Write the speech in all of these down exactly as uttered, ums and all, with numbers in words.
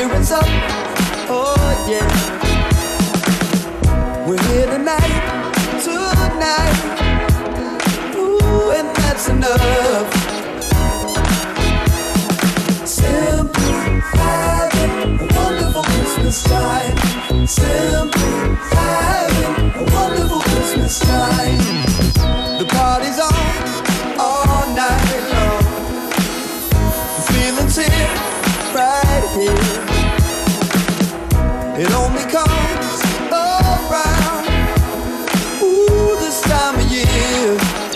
year is up. Oh yeah. We're here tonight, tonight. Ooh, and that's enough. Simply having a wonderful Christmas time. Simply having a wonderful Christmas time. The party's on all night long. The feeling's here, right here. It only comes around, ooh, this time of year.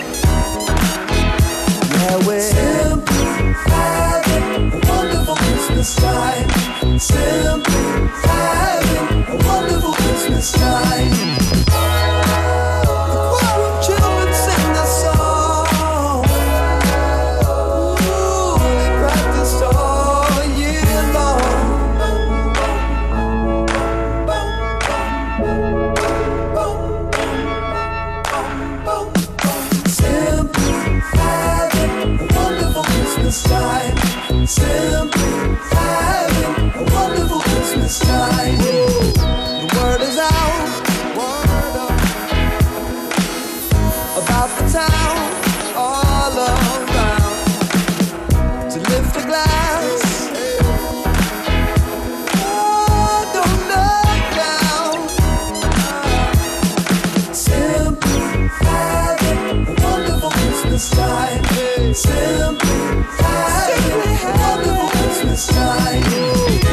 Yeah, we're simply having a wonderful Christmas time. Simply having a wonderful Christmas time. The choir of children sing the song. Ooh, they practiced all year long. Simply having a wonderful Christmas time. Simply having a wonderful Christmas time. Woo. The word is out, word up, about the town, all around, to lift a glass. Oh, don't look down. Simply having a wonderful Christmas time. Simply having a wonderful Christmas time.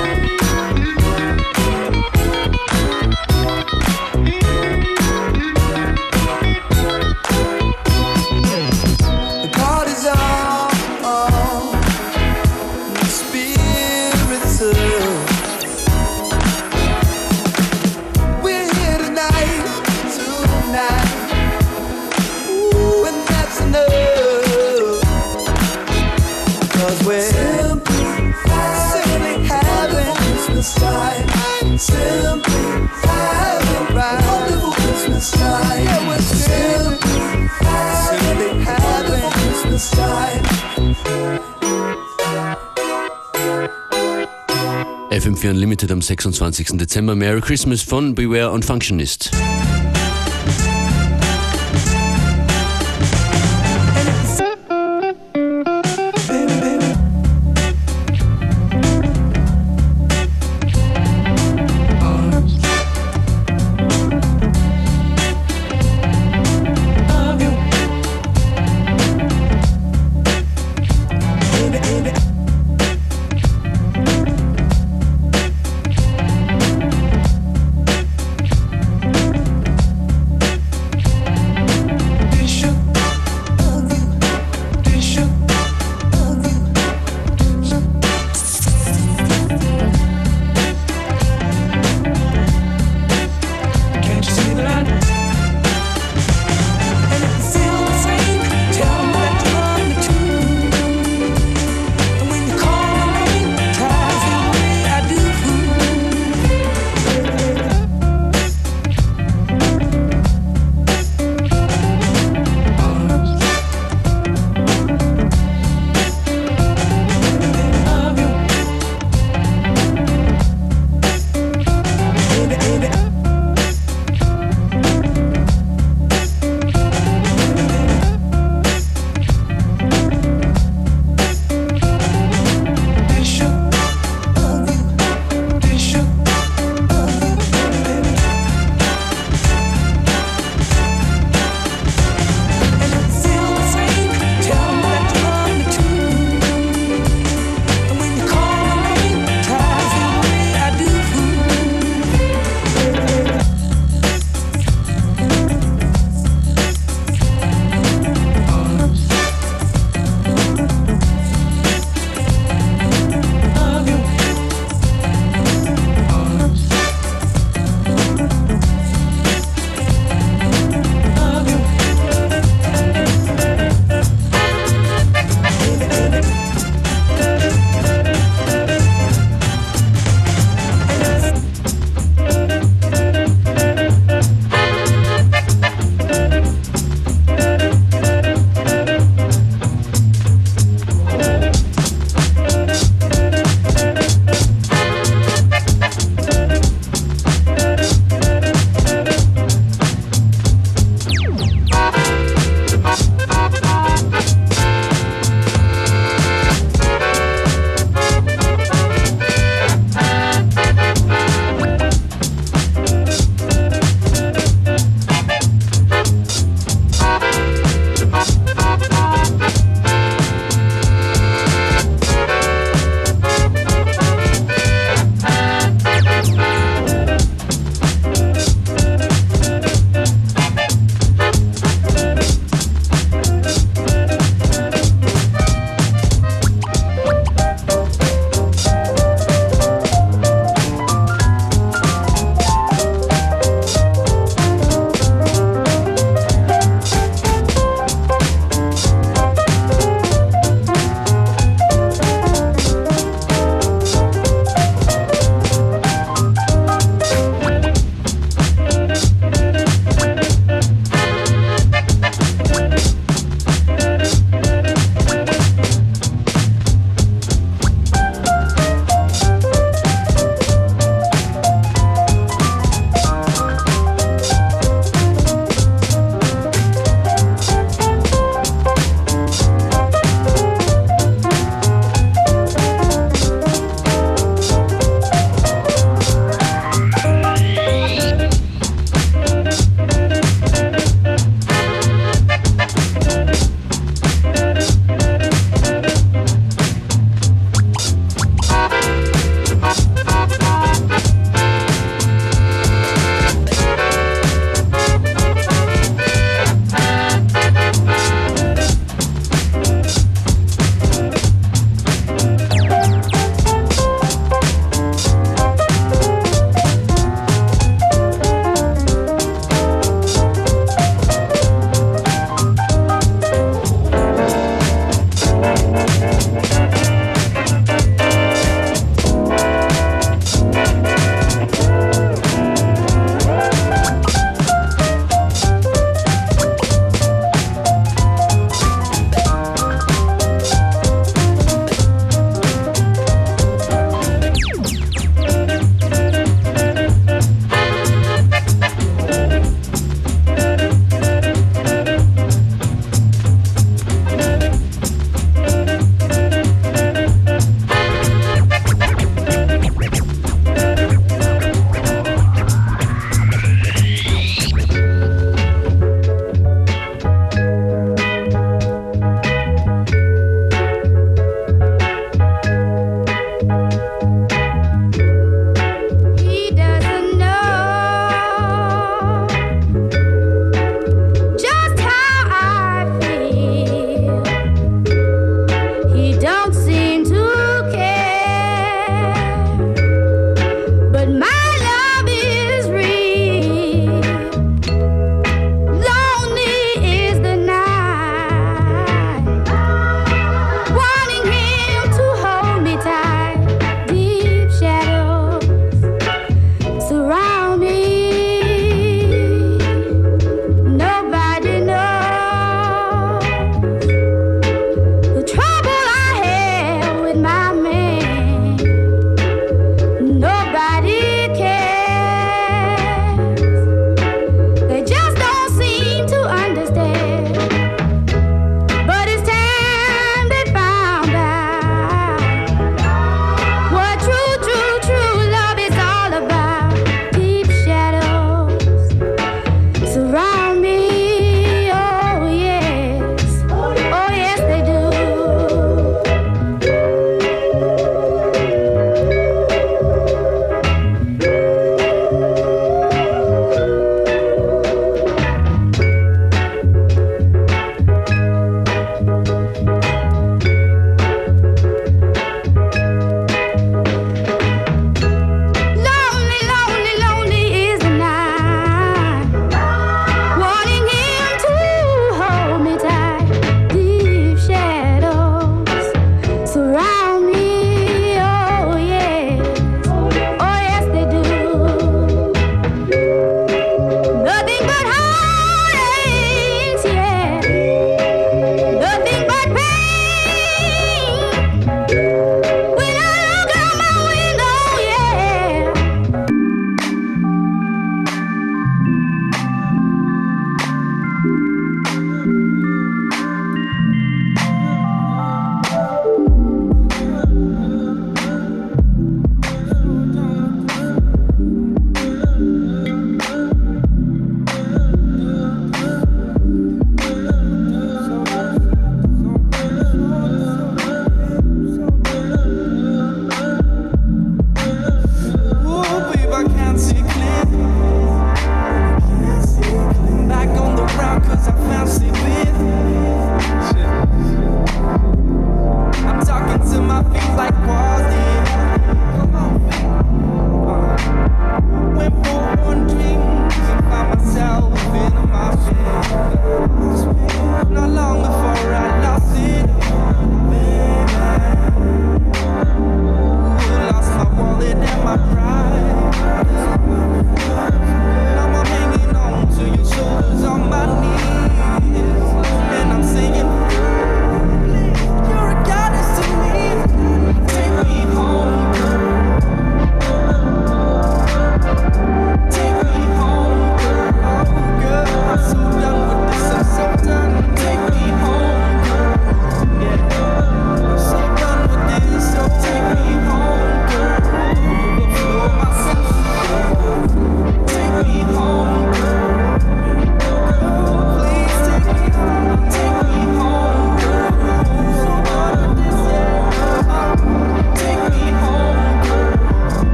Time. Simply having a wonderful Christmas time. Yeah, we're simply having, having a Christmas time. F M vier Unlimited am sechsundzwanzigsten Dezember. Merry Christmas von Beware und Functionist.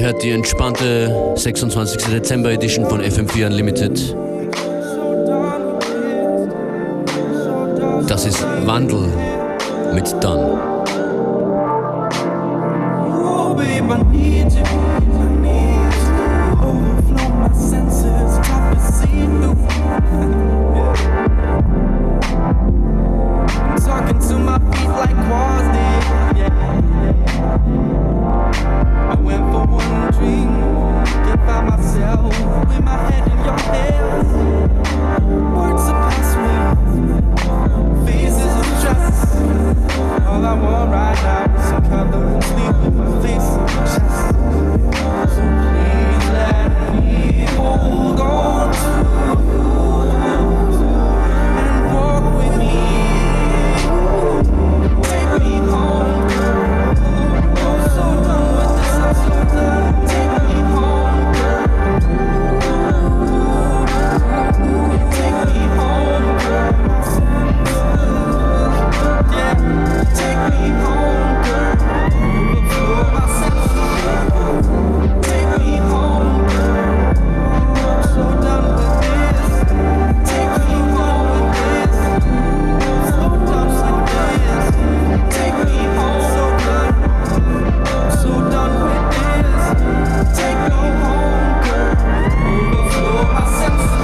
hört die entspannte sechsundzwanzigste Dezember Edition von F M vier Unlimited. Das ist Wandel mit Done. Oh, babe, I need you. I need you. Overflow my senses, top of see through. I'm talking to my feet like walls did. Yeah. I went for one drink, can't find myself with my head in your hands. Words surpass me, faces of trust. All I want right now is some color and sleep with my face on my chest. So please let me hold on to you and walk with me. Take me home, girl. I'm so done with this, I'm so done. Take me home, girl. Take me home, girl. Yeah, take me home, girl. Overflow my senses. Take me home, girl. I'm so done with this. Take me home with this. So done like this. Take me home, so done. I'm so done with this. Take me home, girl. Overflow my senses.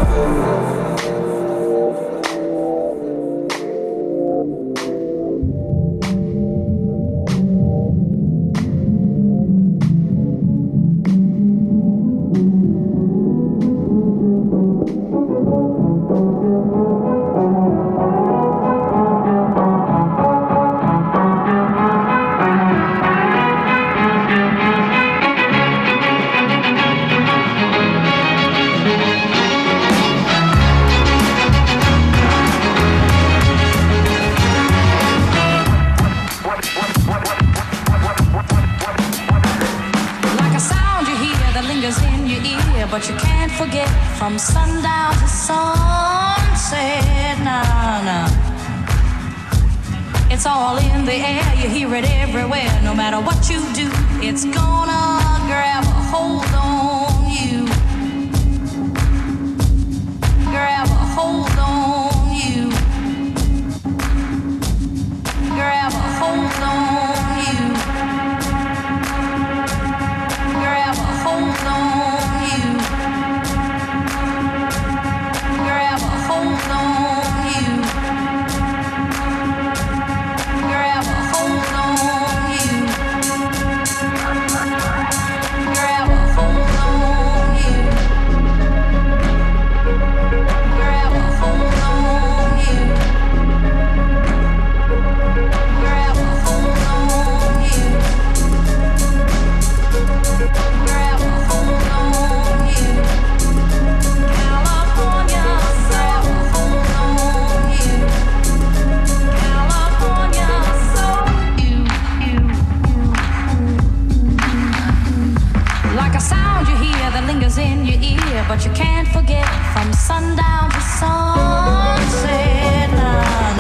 But you can't forget from sundown to sunset. Nah, nah. It's all in the air, you hear it everywhere. No matter what you do, it's gonna grab a hold on you. Grab a hold on you. Grab a hold on you. Grab a hold on. In your ear, but you can't forget from sundown to sunset. Nah,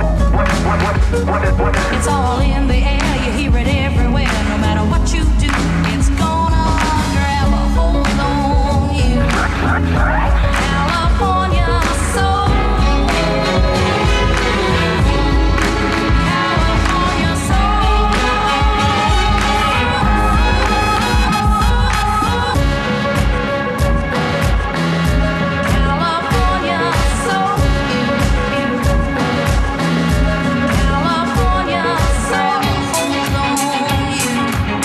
nah. It's all in the air, you hear it everywhere. No matter what you do, it's gonna grab a hold on you. California soul. California soul. California soul.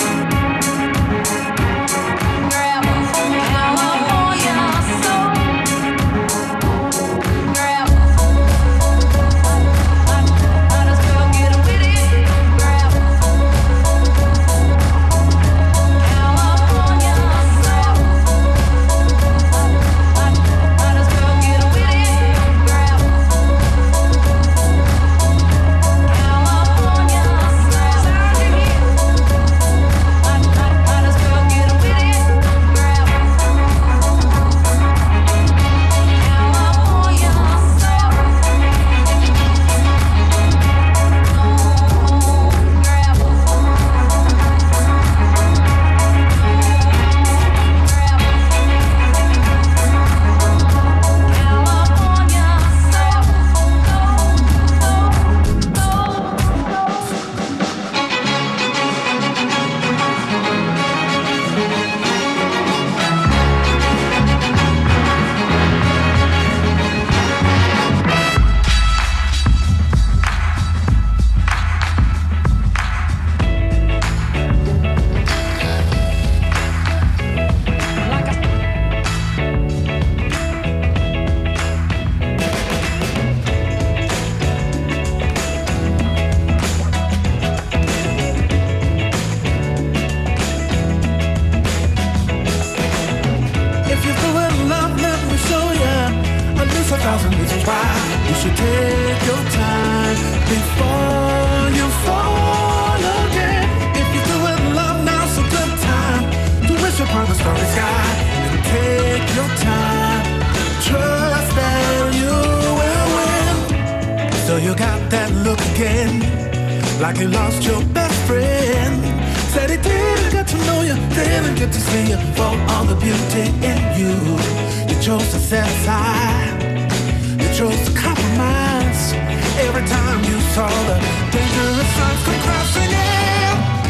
thousand reasons why you should take your time before you fall again. If you're doing love, now's a good time to wish upon the starry sky. And take your time, trust that you will win. So you got that look again, like you lost your best friend. Said he didn't get to know you, didn't get to see you for all the beauty in you. You chose to set aside, you chose to compromise. Every time you saw the dangerous signs come crashing in.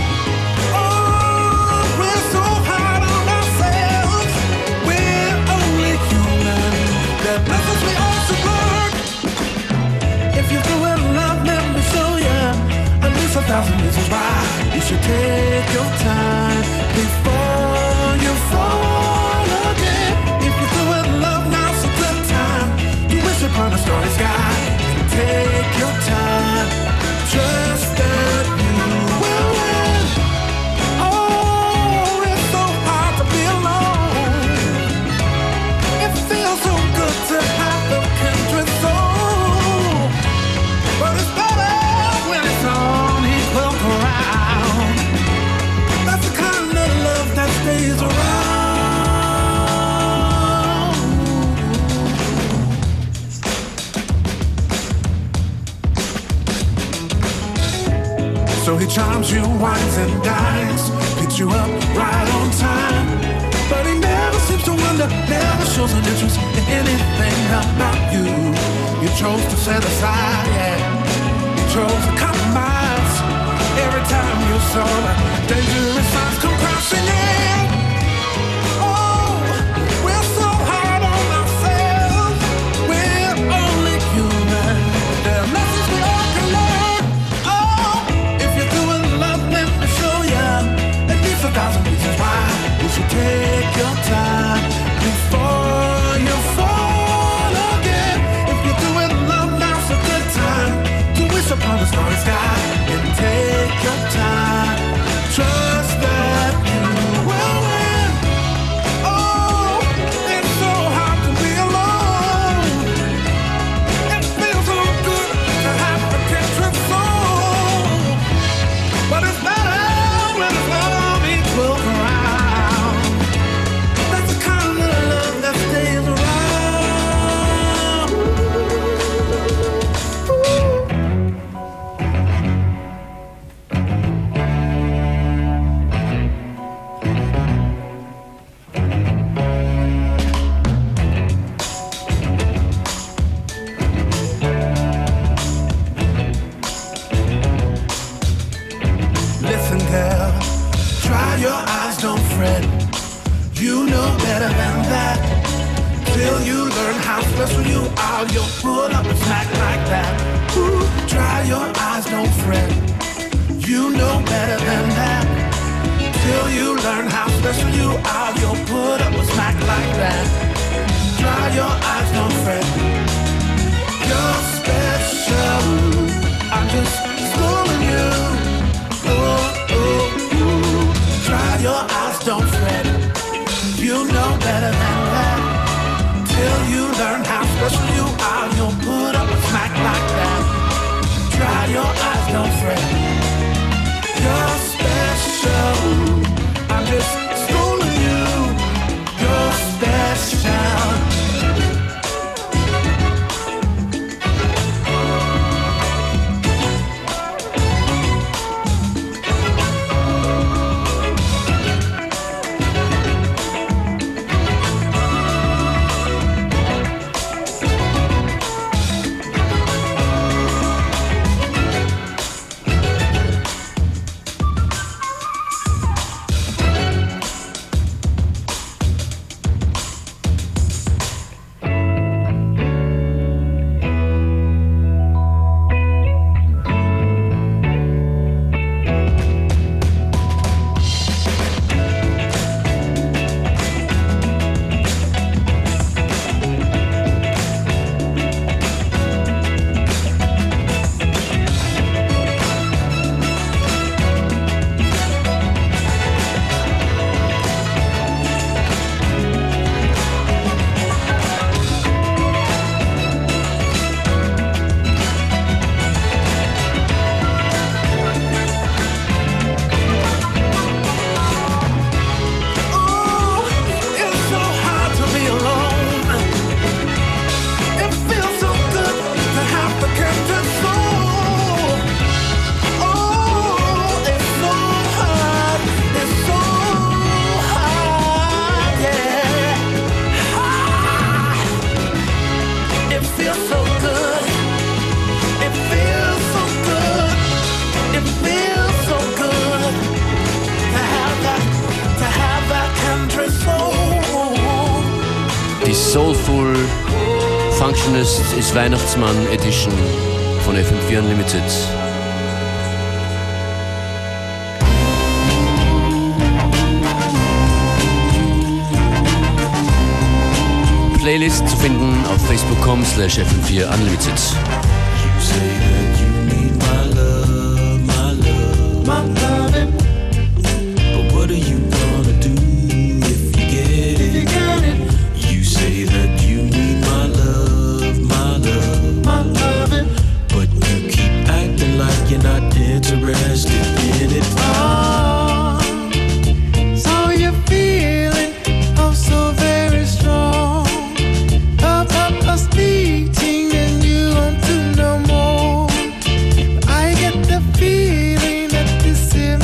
Oh, we're so hard on ourselves, we're only human. There are lessons we all should learn. If you're doing love, let me show you at least a thousand reasons why you should take your time before you fall again. If you're doing love, now's a good time to wish upon a starry sky. And take your time, trust that you will win. Oh, it's so hard to be alone. It feels so good to have the kindred soul, but it's better when it's on equal ground. That's the kind of love that stays around. So he charms you, wines and dines, picks you up right on time. But he never seems to wonder, never shows an interest in anything about you. You chose to set aside, yeah. You chose to compromise. Every time you saw the dangerous signs come crashing in. Oh, we're so hard on ourselves, we're only human. There are lessons we all can learn. Oh, if you're doing love, let me show you at least a thousand reasons why you should take your time before you fall again. If you're doing love, now's a good time to wish upon the starry sky. And take your time, trust that you will win. Oh, it's so hard to be alone. It feels so good to have a kindred soul, but it's better when it's on equal ground. That's the kind of love that stays around. Listen, girl, dry your eyes, don't fret. You know better than that. Till you learn how special you are, you'll put up and smack like that. Ooh, dry your eyes, don't fret. You know better than that. Till you learn how special you are, you'll put up and smack like that. Dry your eyes, don't fret. You're special. I'm just schooling you. Oh, oh, ooh. Dry your eyes, don't fret. You know better than that. Till you learn how special you are, you'll put up a smack like that. Dry your eyes, don't fret. You're special. I'm just schooling you. You're special. Soulful Functionist ist Weihnachtsmann Edition von F M vier Unlimited. Playlist zu finden auf facebook punkt com slash f m vier unlimited. You say that you need my love, my love, my loving. But what are you gonna do if you get it? If you get it. You say that you need my love, my love, my loving. But you keep acting like you're not interested in it. Oh, so you're feeling oh so very strong. Up, up, us beating and you want to know more. I get the feeling that this is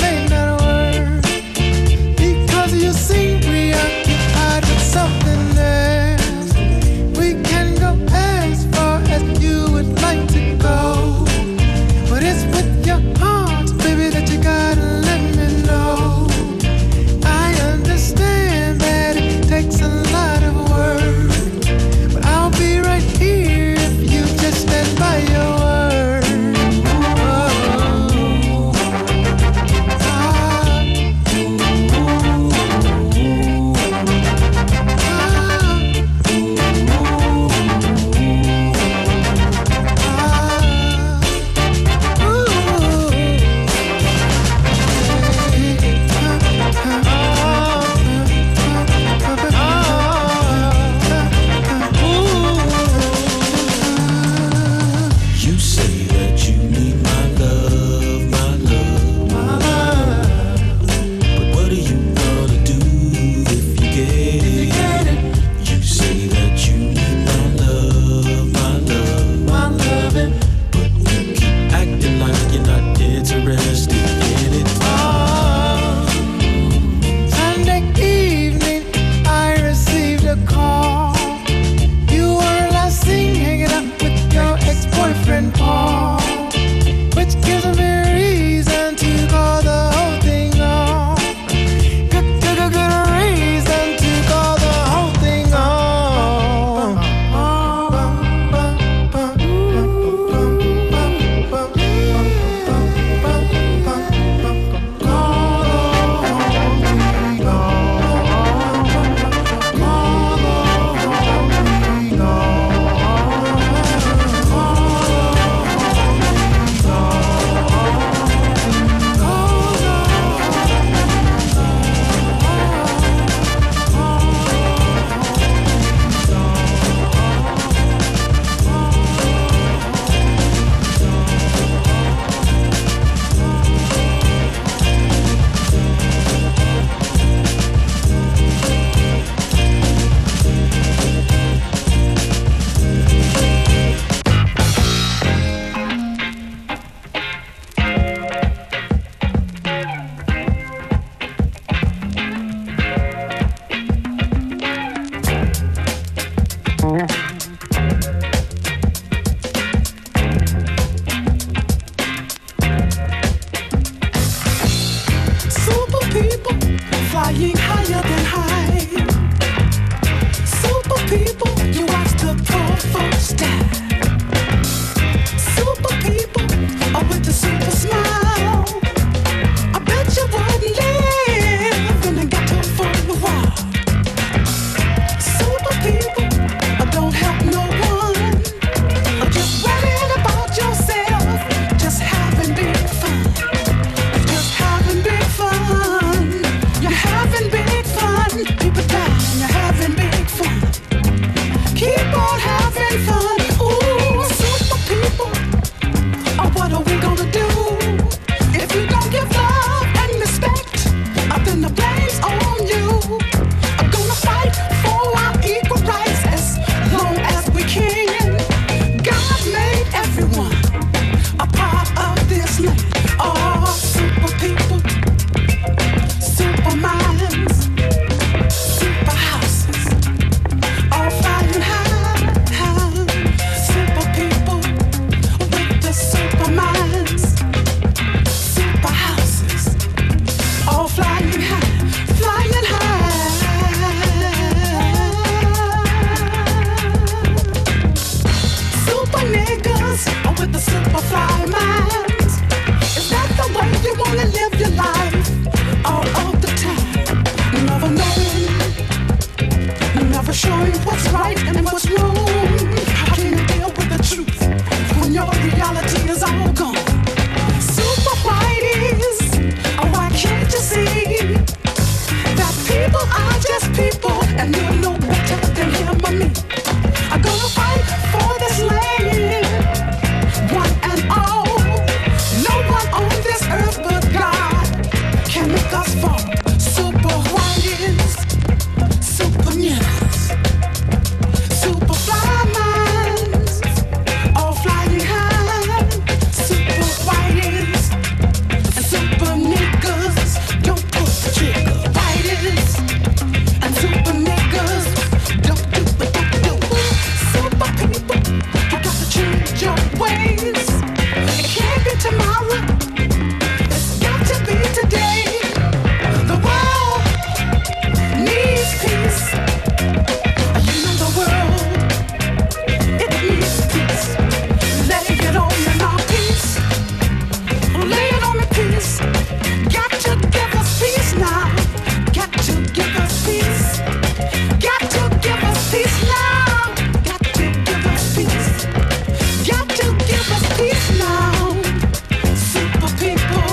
and you know better than him or me. I'm gonna fight for this land, one and all. No one on this earth but God can make us fall. Super whiteys, super niggas, super fly minds, all flying high. Super whiteys and super niggas, don't pull the trigger. Whiteys and super niggas, don't do what they do. Super people, you got to change your ways. It can't be tomorrow, it's got to be today. The world needs peace. You know the world, it needs peace. Lay it on me now, peace. Lay it on me, peace. Got to give us peace now. Got to give us peace. Got to give us peace now. Got to give us peace. Got to give us peace now. Super people.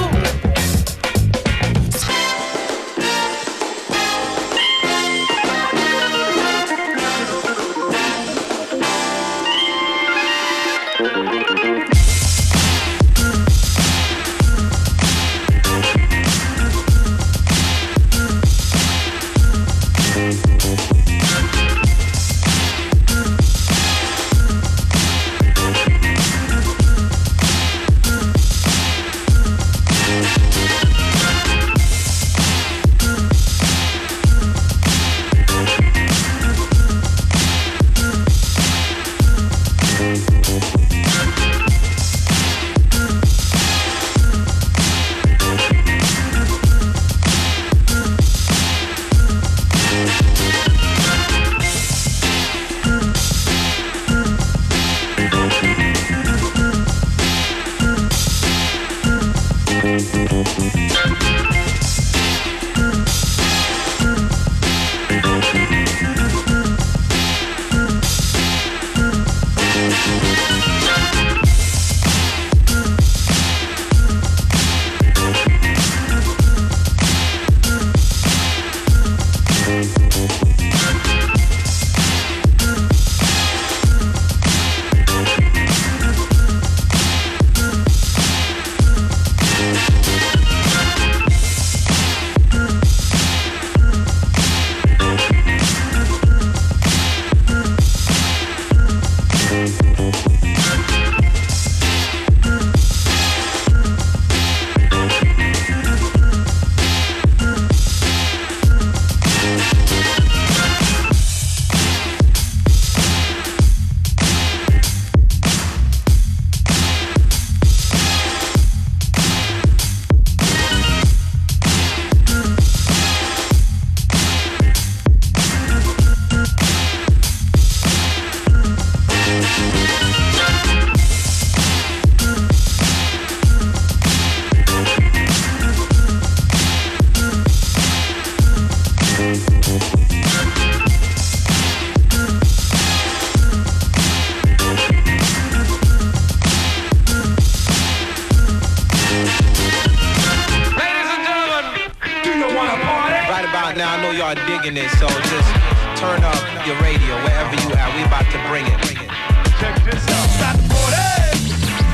It, so just turn up your radio wherever you at. We about to bring it. Check this out. Stop the party.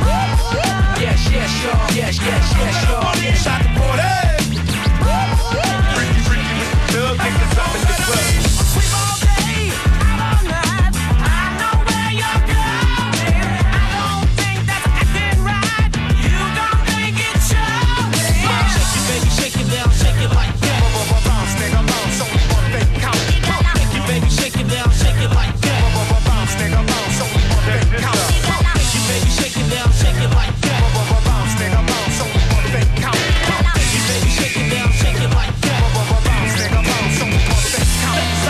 Yes, yes, y'all. Yes, yes, yes, y'all. Stop the party. Freaky, freaky with the thug niggas up in the club. Sleep all day, out all night. I know where you're going. I don't think that's acting right. You don't think it's showing. Shake it, baby, shake it down, shake it like that. Bounce, nigga, bounce, only one thing count. Shake it, baby, shake it down, shake it like that. Bounce, nigga, bounce, only one thing count. Shake it, baby, shake it down, shake it like that. Bounce, nigga, bounce, only one thing count. Shake it, baby, shake it down, shake it like that. Bounce, nigga, bounce, only one thing count.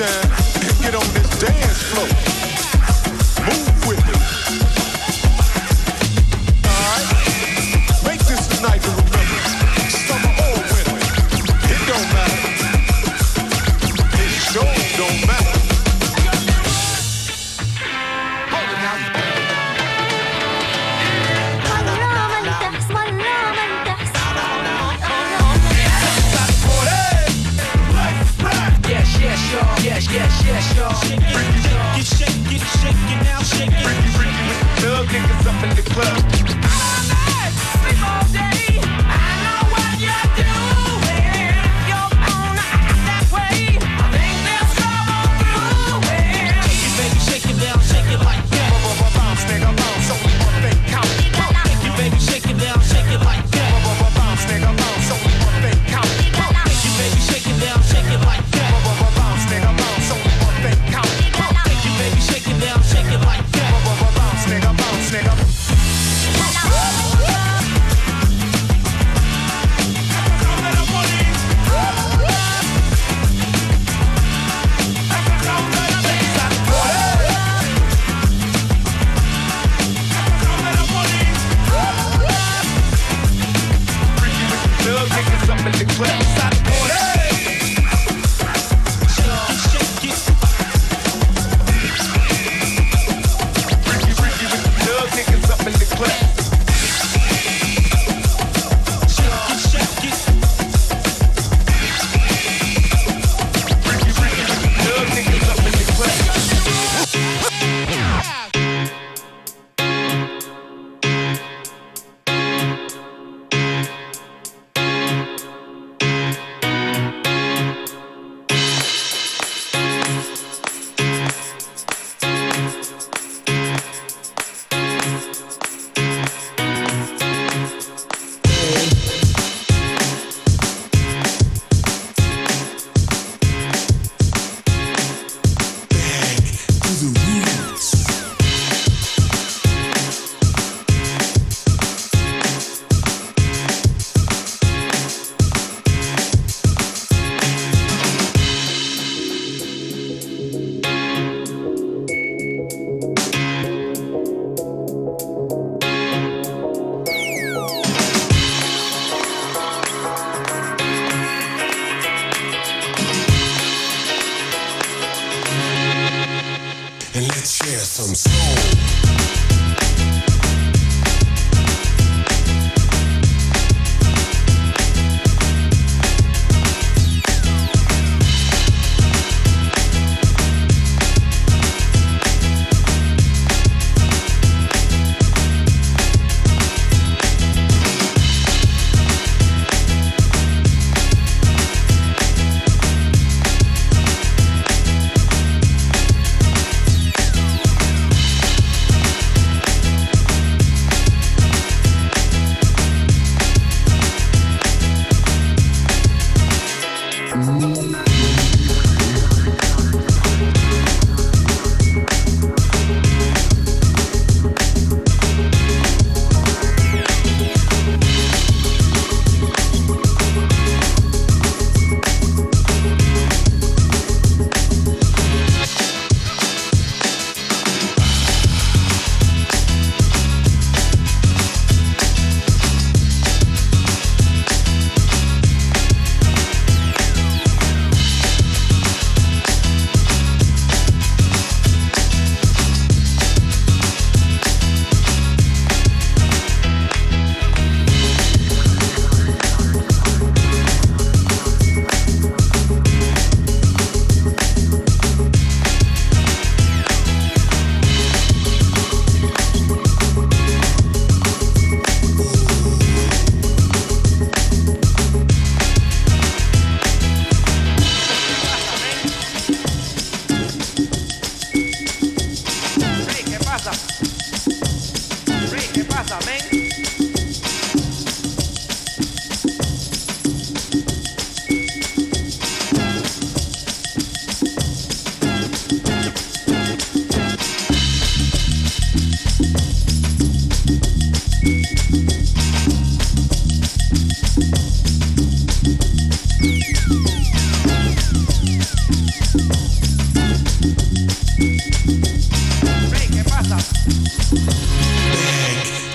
time and get on this dance floor. Move with it. Alright? Make this a night to remember. Summer or winter. It don't matter. It sure don't matter. Hold it now. Yes, yes, y'all. Yes, yes, yes, y'all. Get shake, get shake it now, shake it. Freaky, freaky with the thug niggas up in the club. Sleep all day. I know what you're doing. You're gonna act that way. I think there's trouble brewing. You baby, shake it down, shake it like that. Bounce, nigga, bounce, only one thing count. You baby, shake it down, shake it like that. Bounce, nigga, bounce, only one thing count. You baby, shake it down, shake it like that. Bounce, nigga, bounce, only one thing count. You baby, shake it down, shake it like that. Bounce, nigga, bounce, nigga. Freaky with the thug niggas up in the club. Freaky, freaky with the thug niggas up in the club.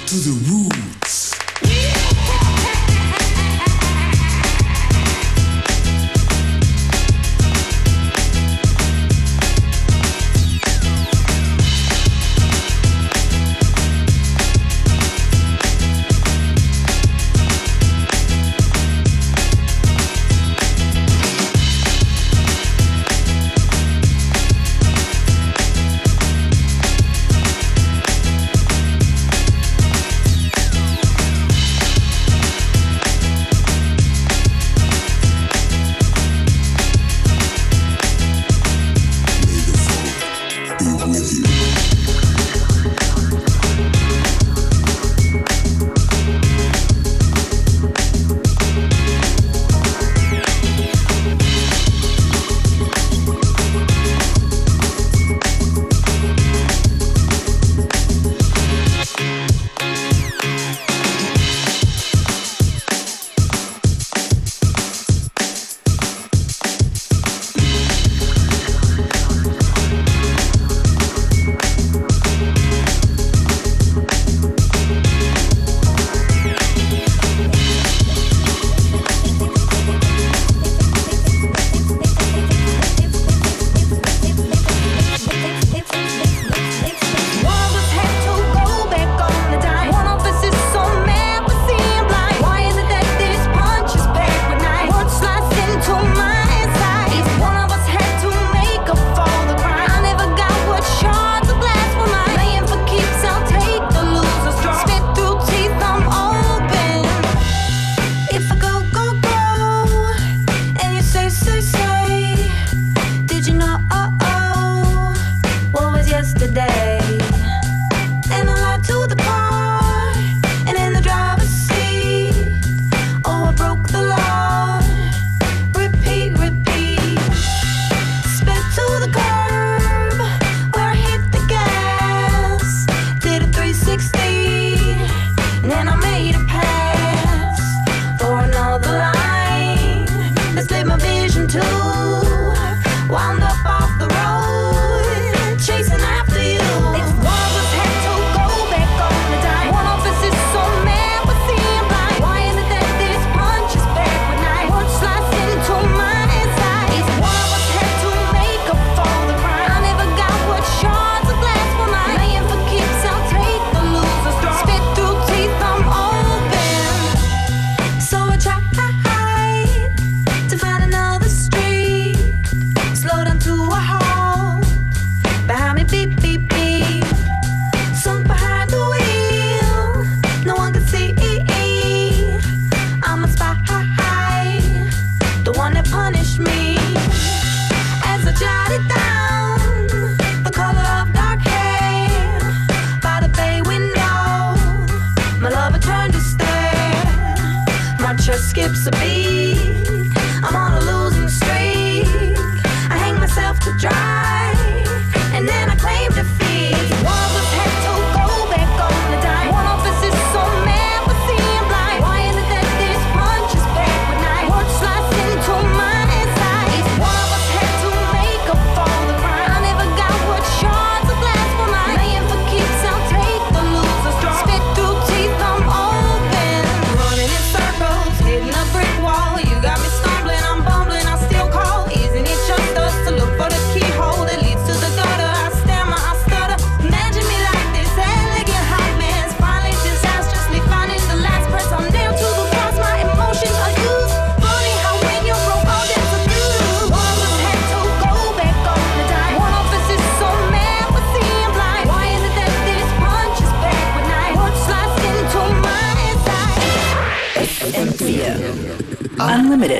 to the roots. Skips a beat. I'm on a losing streak. I hang myself to dry, and then I claim defeat. One of us had to go back on the dime. One of us is so mad for seeing blind. Why is it that this punch is back when I watch slice into my insides? One of us had to make up for the crime. I never got what shards of glass for mine. Playing for keeps, I'll take the loser's draw. Spit through teeth, I'm open. Running in circles, hitting a brick wall. You got me stumbling, I'm bumbling, I still call. Isn't it just us to look for the keyhole that leads to the gutter? I stammer, I stutter. Imagine me like this elegant hot mess. Finally disastrously finding the last press. I'm nailed to the cross, my emotions are used. Funny how when you're broke, all that's abused. One of us had to go back on the dime. One of us is so mad for seeing blind. Why is it that this punch is back when I watch slice into my inside? F M vier Unlimited.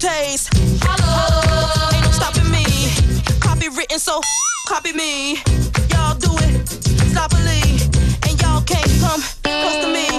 taste. Holla. Ain't no stopping me. Copy written, so copy me. Y'all do it, sloppily, and y'all can't come close to me.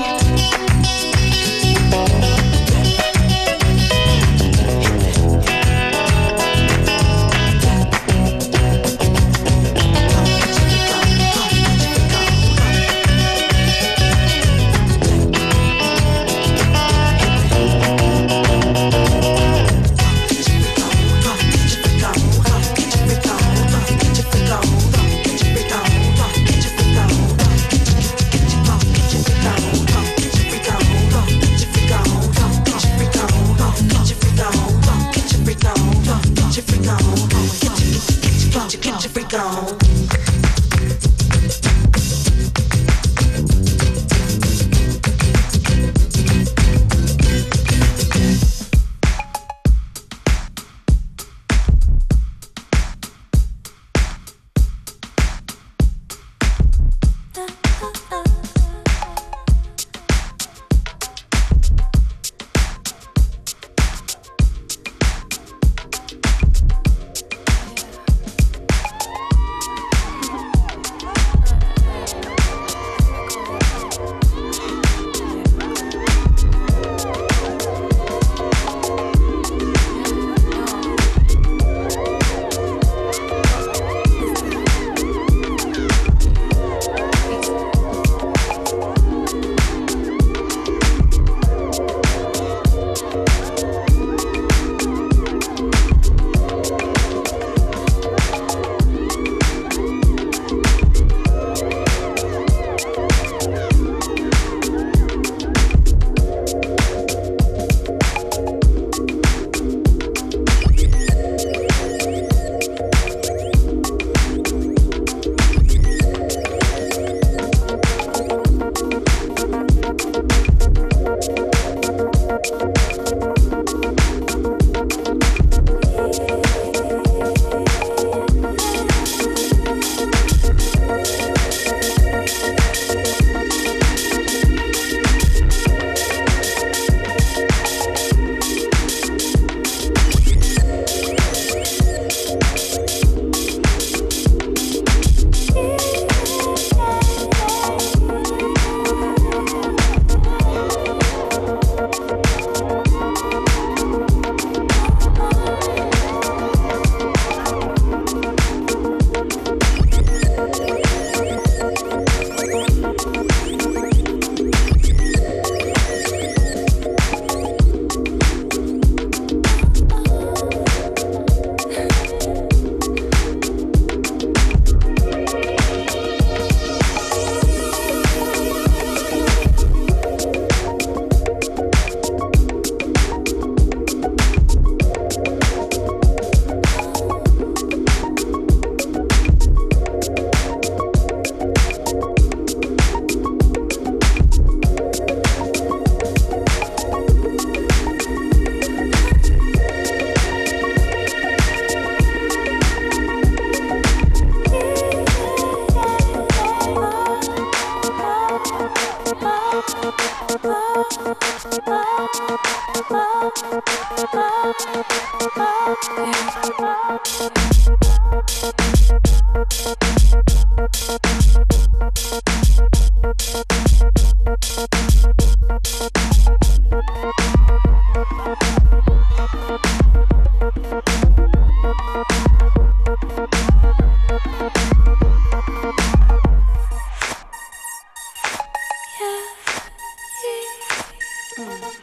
Yeah.